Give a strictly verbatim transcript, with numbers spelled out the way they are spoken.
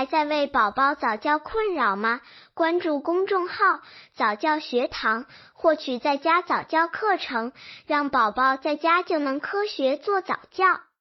还在为宝宝早教困扰吗？关注公众号早教学堂，获取在家早教课程，让宝宝在家就能科学做早教。